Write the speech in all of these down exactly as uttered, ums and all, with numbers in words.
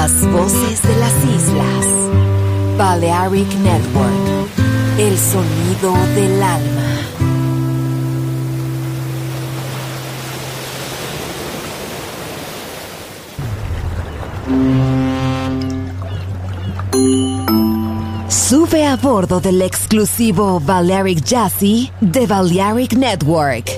Las voces de las islas. Balearic Network. El sonido del alma. Sube a bordo del exclusivo Balearic Jazzy de Balearic Network.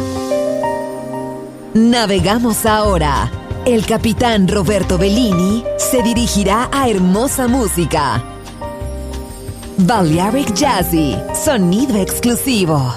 Navegamos ahora. El capitán Roberto Bellini se dirigirá a hermosa música. Balearic Jazzy, sonido exclusivo.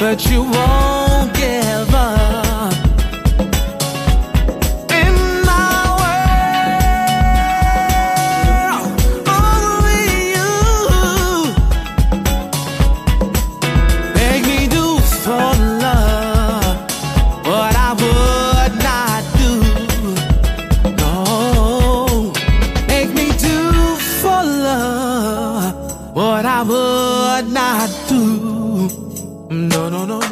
but you won't give up. In my world, only you make me do for love what I would not do. No, make me do for love what I would not do. No, no, no, no.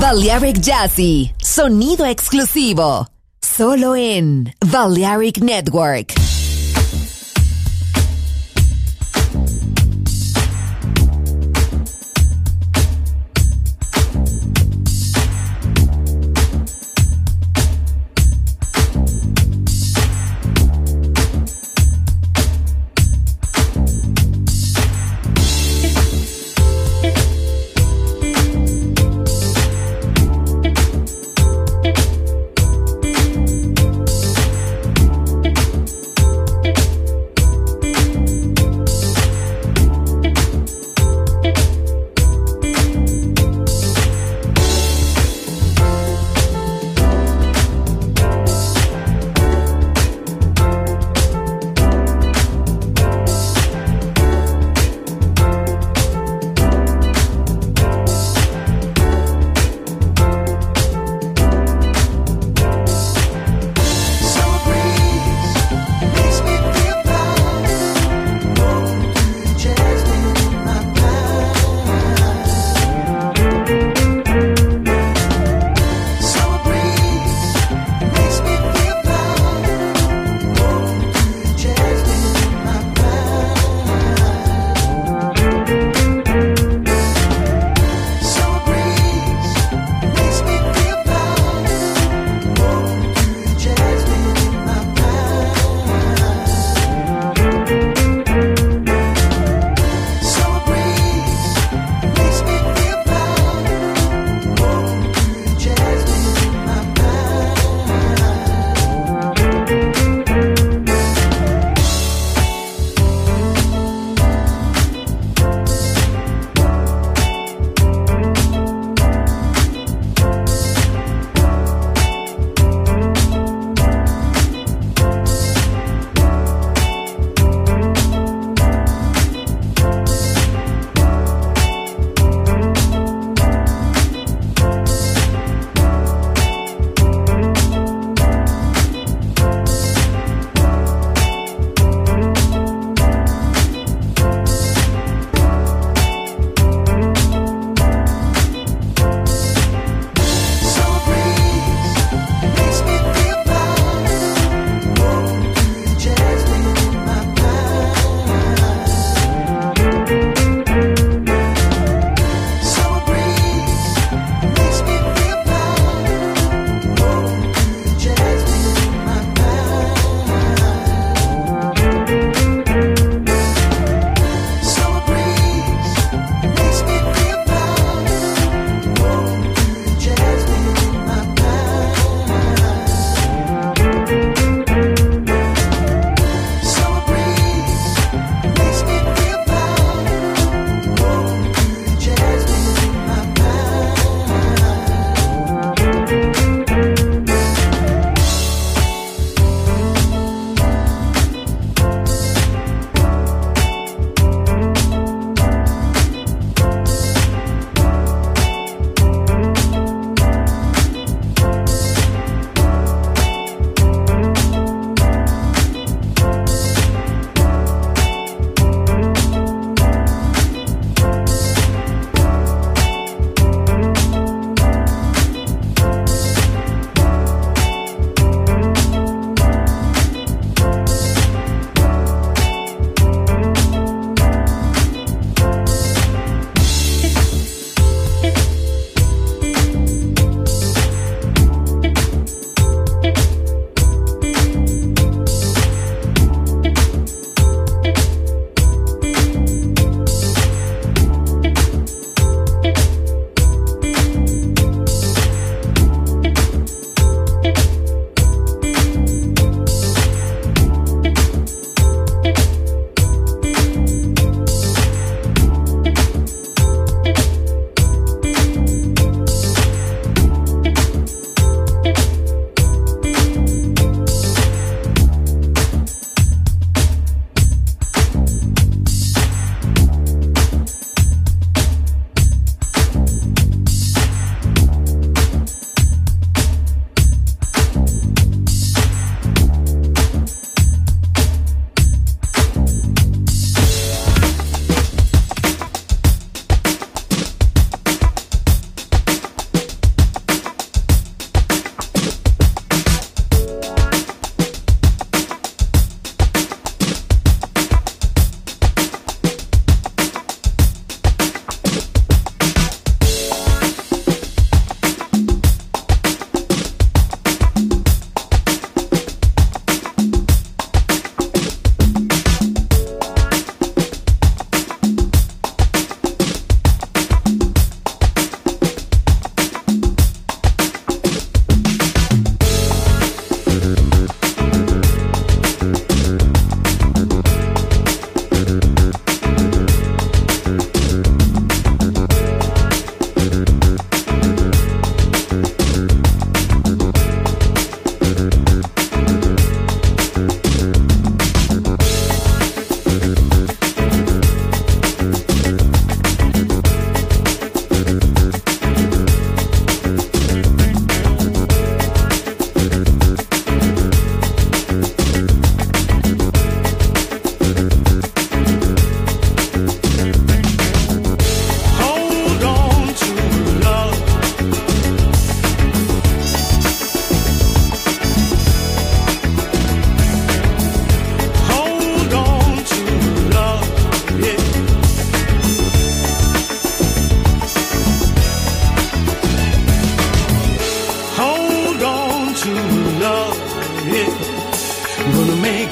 Balearic Jazzy, sonido exclusivo, solo en Balearic Network.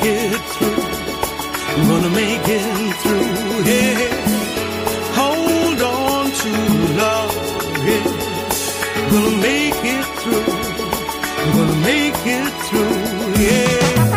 it through. I'm gonna make it through. Yeah. Hold on to love. Yeah. I'm gonna make it through. I'm gonna make it through. Yeah.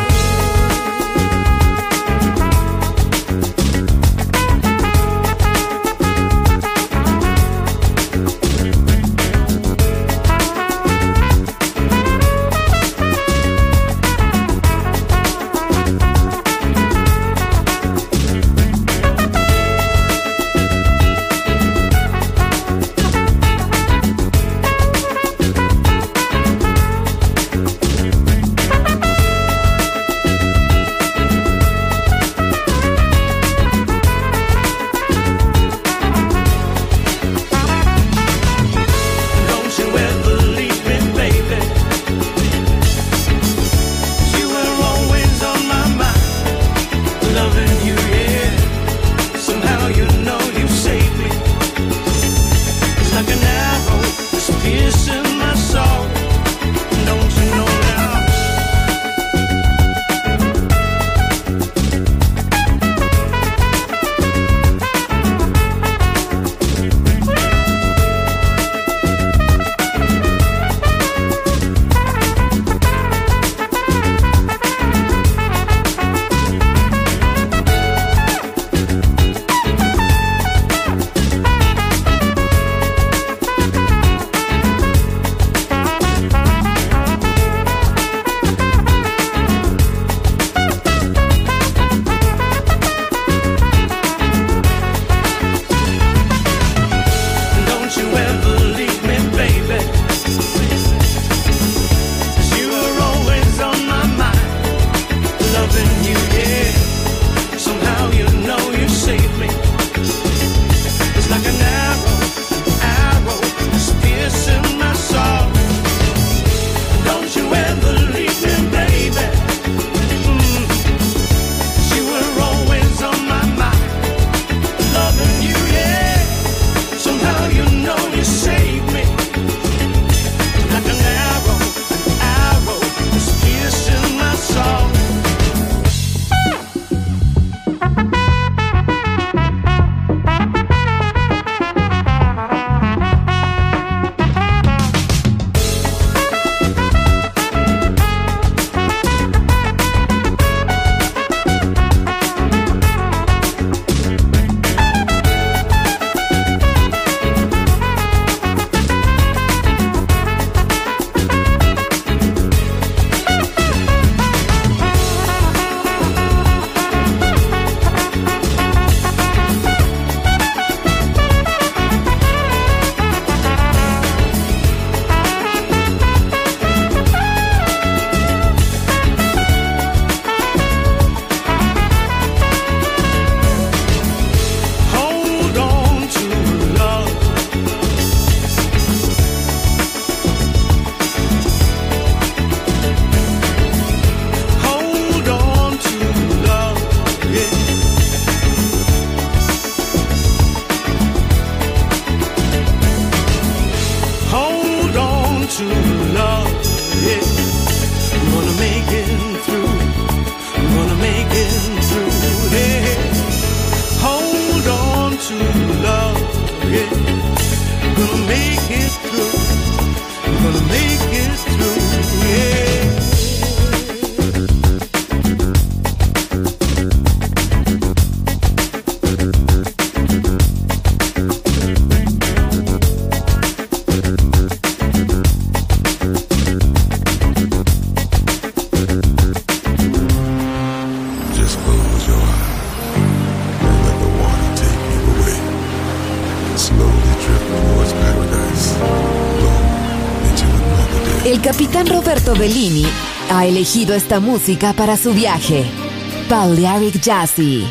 El capitán Roberto Bellini ha elegido esta música para su viaje. Balearic Jazzy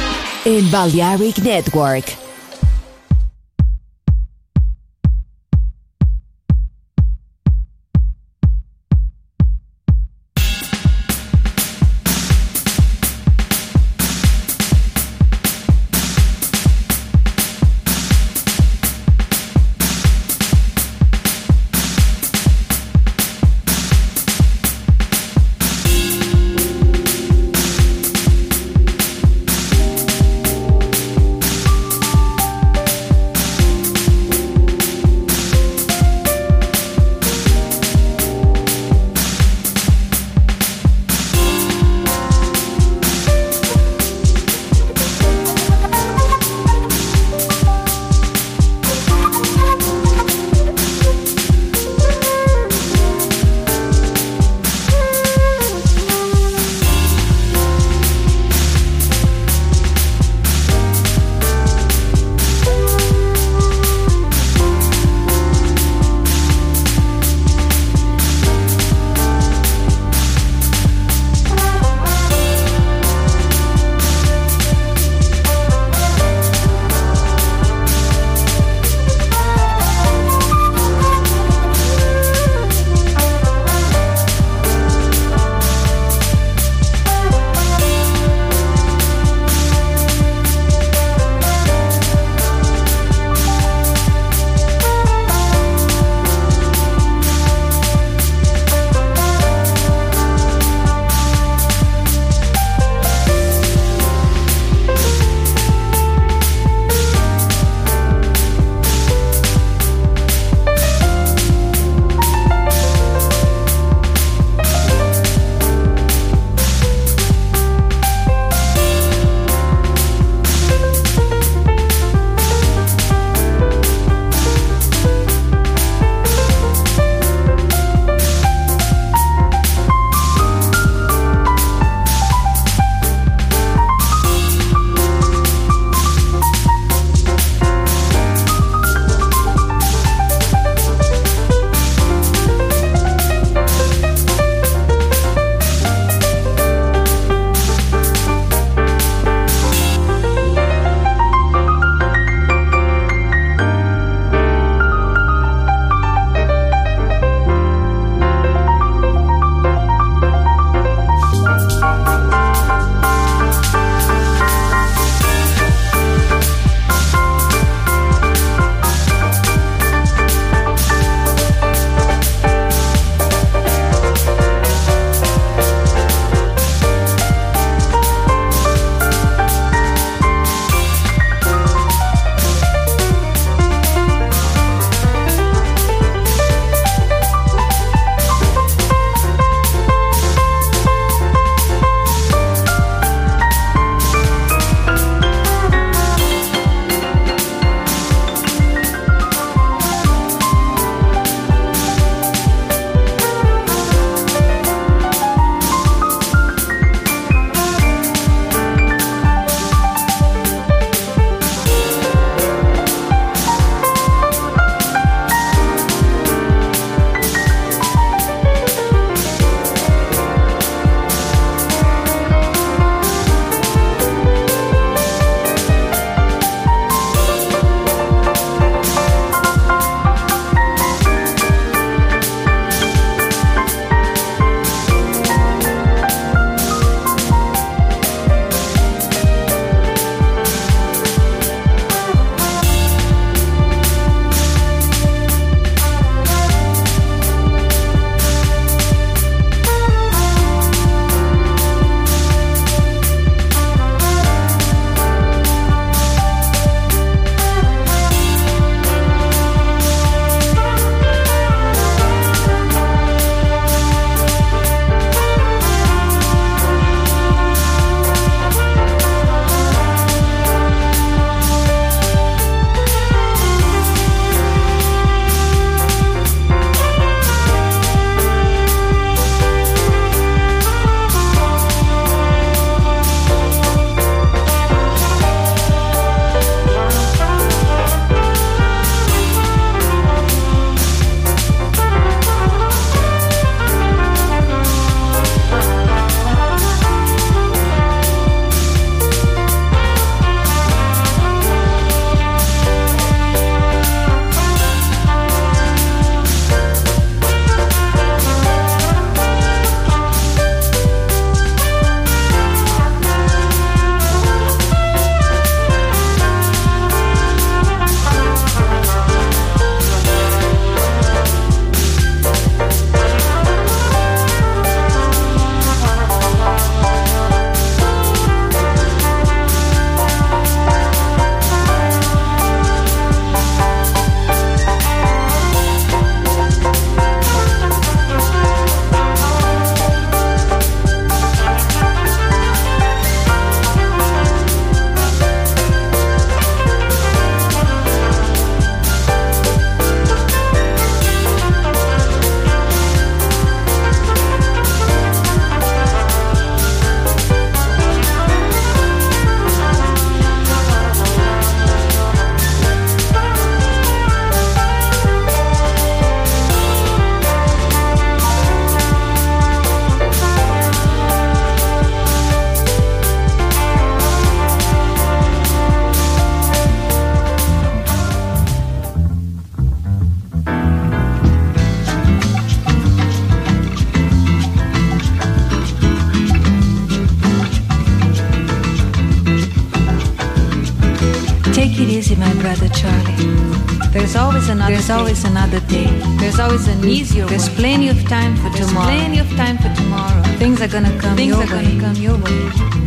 en Balearic Network. There's always another There's day. always another day. There's always an easier There's way. plenty of time for There's tomorrow. Plenty of time for tomorrow. Things are gonna come Things your are way. Gonna come your way.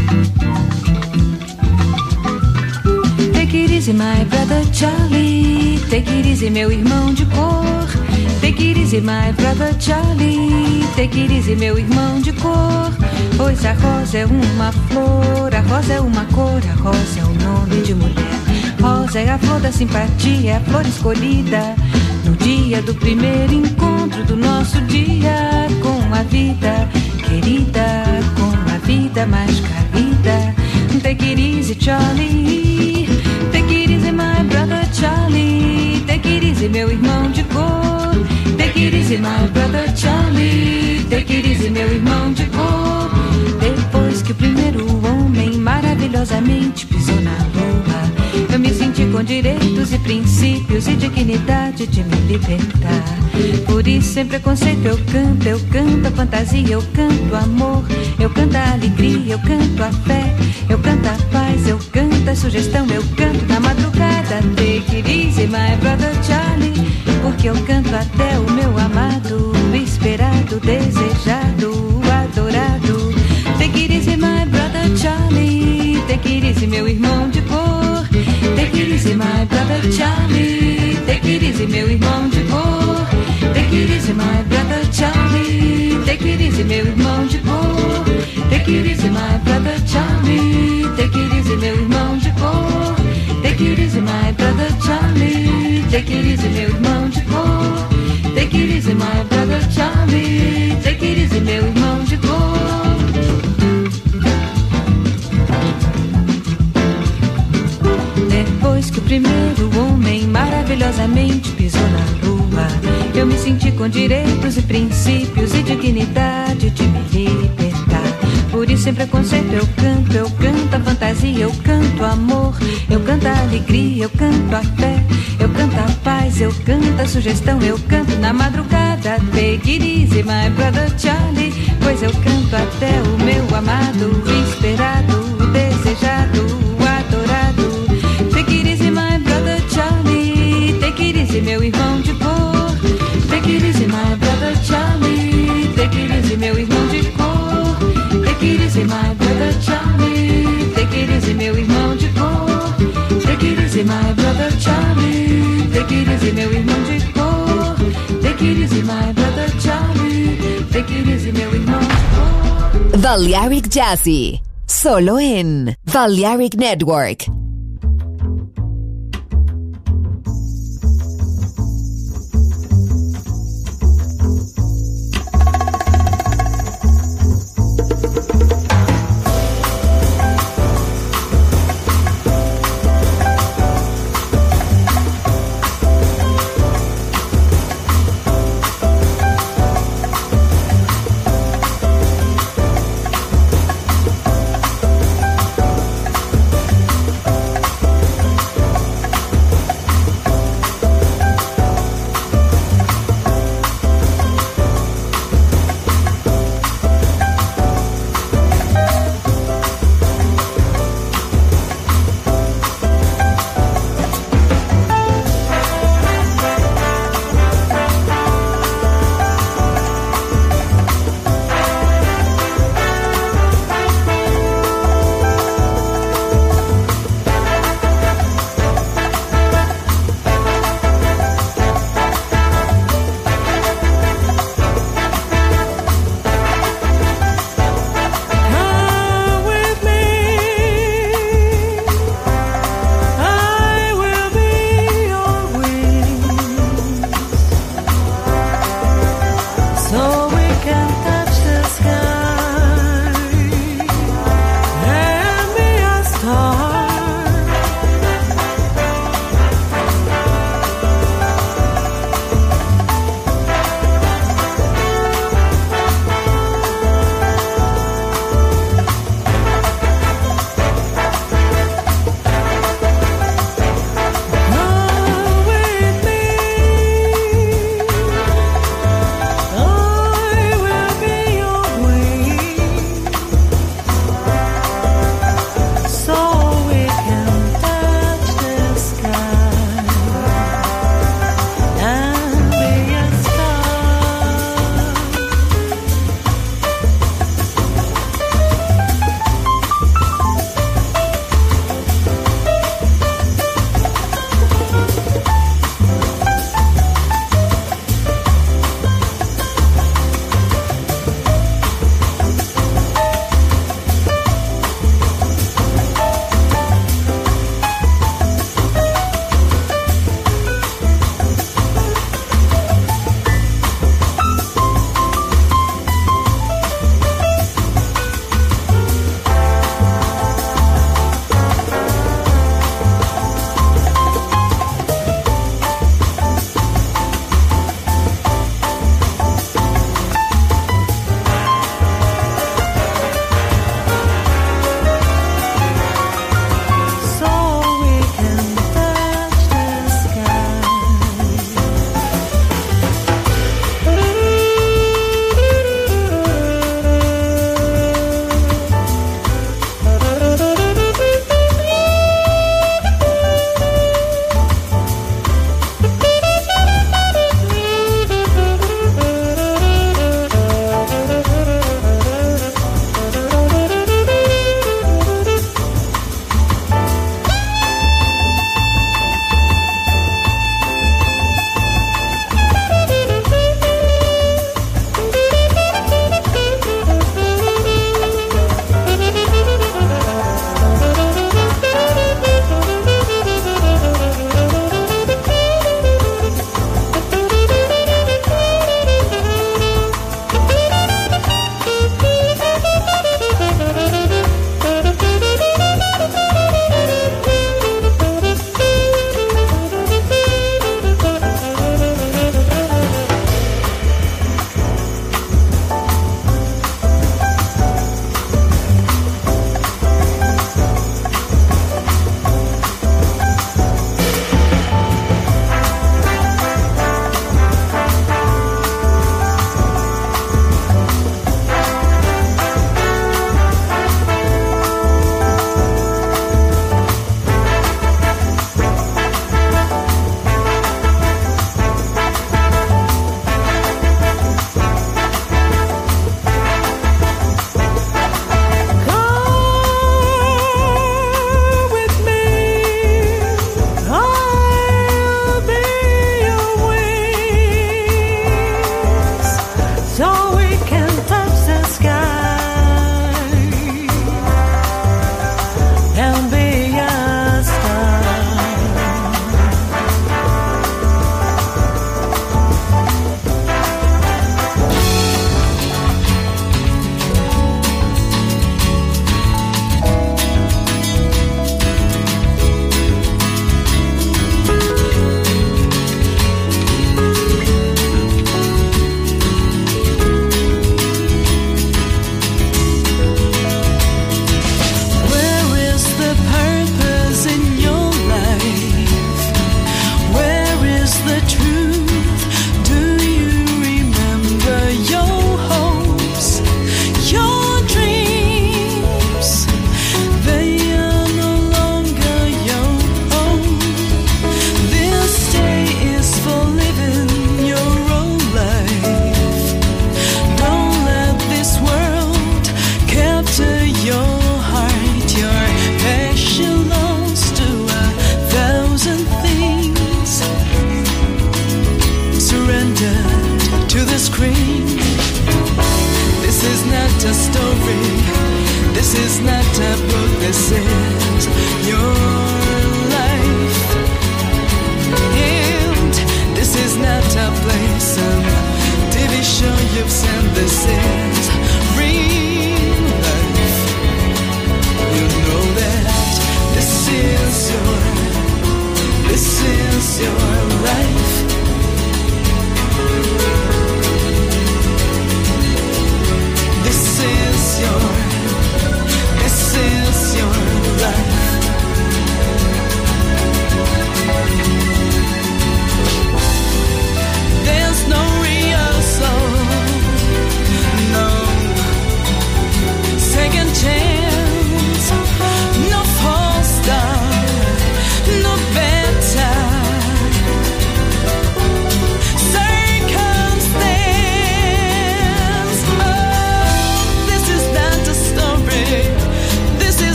Take it easy, my brother Charlie. Take it easy, meu irmão de cor. Take it easy, my brother Charlie. Take it easy, meu irmão de cor. Pois a rosa é uma flor, a rosa é uma cor, a rosa é o nome de mulher. Rosa é a flor da simpatia, é a flor escolhida no dia do primeiro encontro do nosso dia com a vida querida, com a vida mais carida. Take it easy, Charlie. Take it easy, my brother Charlie. Take it easy, meu irmão de cor. Take it easy, my brother Charlie. Take it easy, meu irmão de cor. Depois que o primeiro homem maravilhosamente pisou na lua, eu me senti com direitos e princípios e dignidade de me libertar. Por isso, sem preconceito, eu canto, eu canto a fantasia, eu canto amor, eu canto a alegria, eu canto a fé, eu canto a paz, eu canto a sugestão, eu canto na madrugada. Take it easy, my brother Charlie, porque eu canto até o meu amado, esperado, desejado, adorado. Take it easy, my brother Charlie. Take it easy, meu irmão de cor. Take it easy, my brother Charlie. Take it easy, meu irmão de cor. Take it easy, my brother Charlie. Take it easy, meu irmão de cor. Take it easy, my brother Charlie. Take it easy, meu irmão de cor. Take it easy, my brother Charlie. Take it easy, meu irmão de cor. Take it easy, my brother Charlie. Take it easy, meu irmão de cor. Depois que o primeiro homem maravilhosamente pisou na lua, eu me senti com direitos e princípios e dignidade de me libertar. Por isso, sem preconceito, eu canto, eu canto a fantasia, eu canto amor, eu canto a alegria, eu canto a fé, eu canto a paz, eu canto a sugestão, eu canto na madrugada. Take it easy, my brother Charlie, pois eu canto até o meu amado, esperado, desejado, adorado. Take it easy, my brother Charlie. Take it easy, meu irmão de cor. Take it easy, my brother Charlie. Take it easy, meu irmão de cor. Take it easy, my brother Charlie. Take it easy, meu irmão de cor. Take it easy, my brother Charlie. Take it easy, meu irmão de cor. Take it easy, my brother Charlie. Take it easy, meu irmão de cor. Balearic Jazzy, solo en Balearic Network.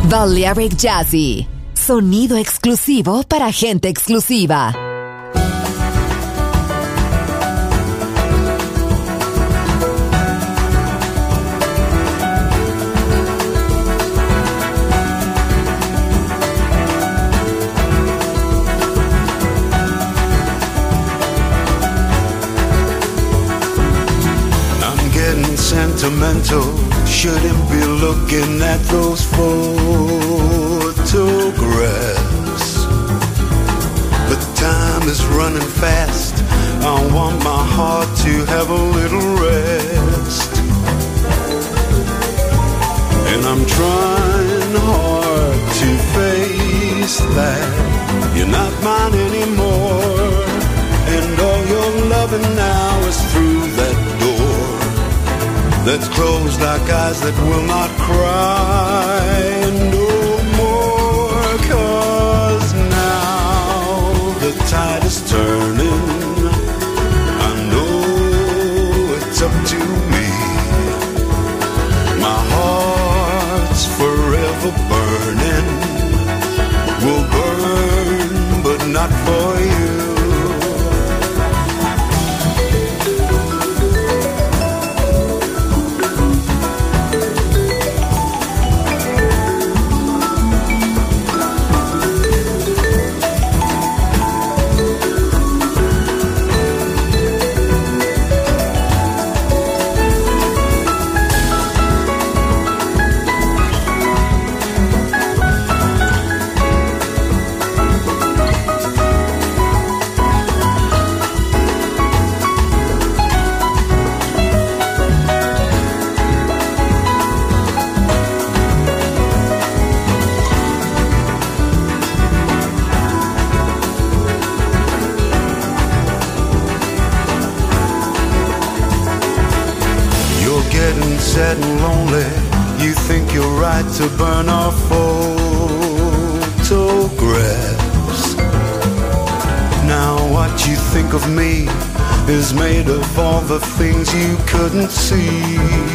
Balearic Jazzy, sonido exclusivo para gente exclusiva. Sentimental, shouldn't be looking at those photographs. But time is running fast, I want my heart to have a little rest. And I'm trying hard to face that you're not mine anymore, and all your loving now is through that door that's closed like eyes that will not cry no more. 'Cause now the tide is turning, I know it's up to me. My heart's forever burning, will burn but not for you. Sad and lonely, you think you're right to burn our photographs. Now what you think of me is made of all the things you couldn't see.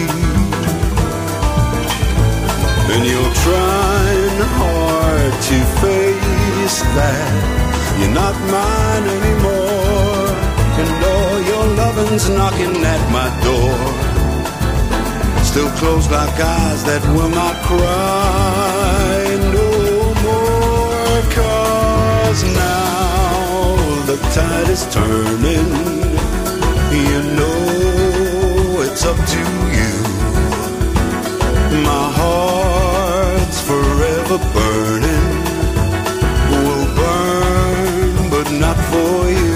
And you're trying hard to face that you're not mine anymore, and all your loving's knocking at my door, still closed like eyes that will not cry no more. 'Cause now the tide is turning, you know it's up to you. My heart's forever burning, will burn but not for you.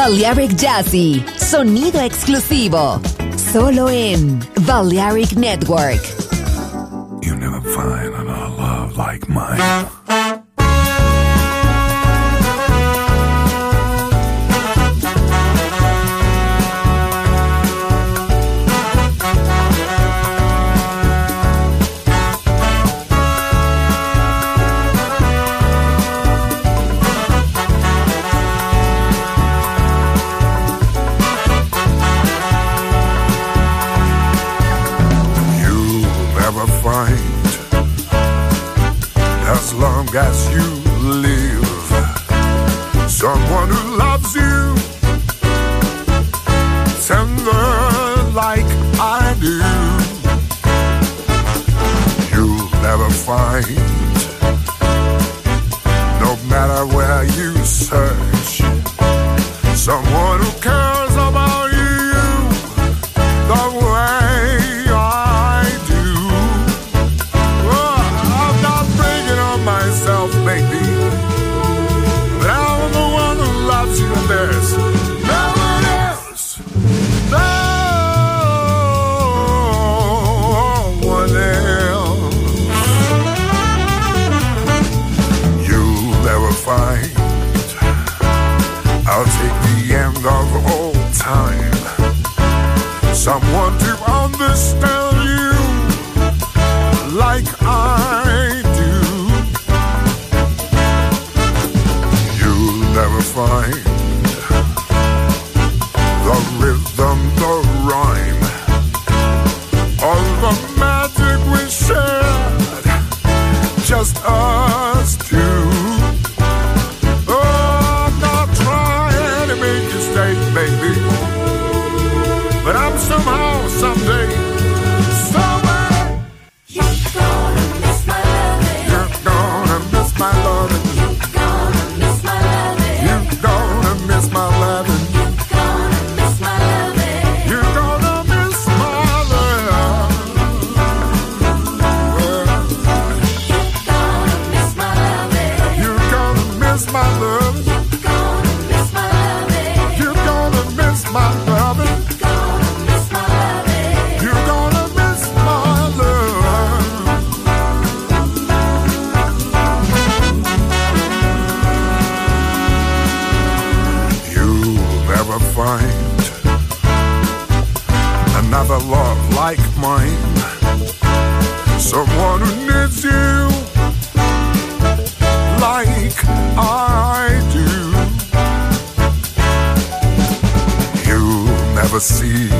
Balearic Jazzy, sonido exclusivo, solo en Balearic Network. You never find another love like mine. As long as you live, someone who loves you tender like I do, you'll never find, no matter where you search, someone who cares about you the way I do. Myself, maybe, but I'm the one who loves you, and there's no one else, no one else. You'll never find, I'll take the end of all time, someone to understand you like I do. Never find the rhythm, the rhyme, all the magic we shared, just us two. Oh, I'm not trying to make you stay, baby, but I'm somehow, someday, somewhere, you're gonna miss my loving. You're gonna miss my loving. Miss my loving. You're gonna miss my loving. You're gonna miss my love. You're gonna miss my love. You're gonna miss my love. You're gonna miss my love. Never find another love like mine, someone who needs you like I do. You'll never see